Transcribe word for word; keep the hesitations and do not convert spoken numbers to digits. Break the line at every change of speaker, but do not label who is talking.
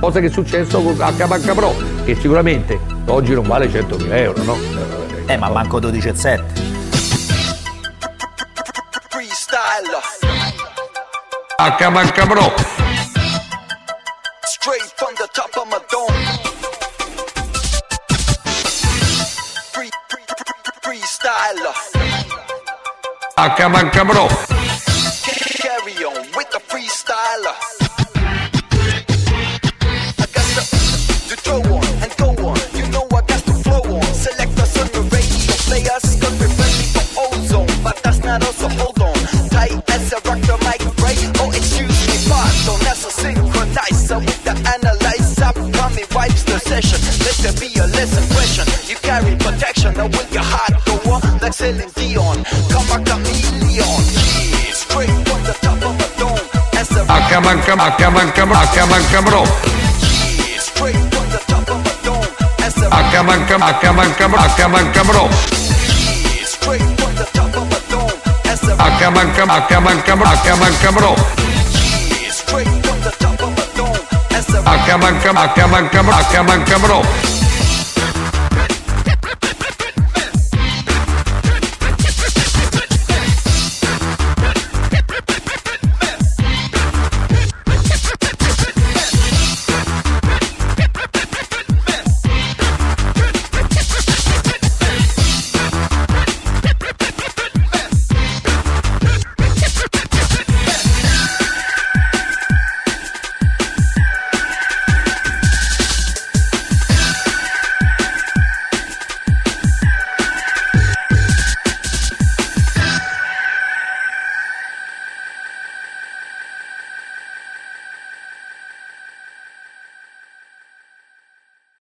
Cosa che è successo con H Banca Pro, che sicuramente oggi non vale centomila euro, no?
Eh, ma manco dodici e sette.
H Banca Pro.
Straight from the top of my dome. Free, free, free, freestyler.
H Banca Pro.
Carry on with the freestyler. I got to, to throw on and go on. You know I got to flow on. Select us on the radio. Players could be ready for ozone, but that's not us, so hold on. Tight as a rock the mic break. Oh, excuse me, pardon. That's a synchronizer with the analyzer. Coming wipes the session. Let there be a lesson question. You carry protection, or will your heart go on like Celine Dion? Come a chameleon. Yeah, straight from the top of a dome. As a
H Banca H Banca H Banca Pro.
yeah, straight from the top of a dome. As a
H Banca H Banca H Banca Pro.
yeah, straight from the top of a dome. As a
H Banca H Banca H Banca Pro.
yeah, straight from the top of a dome. As a
H Banca H Banca H Banca Pro.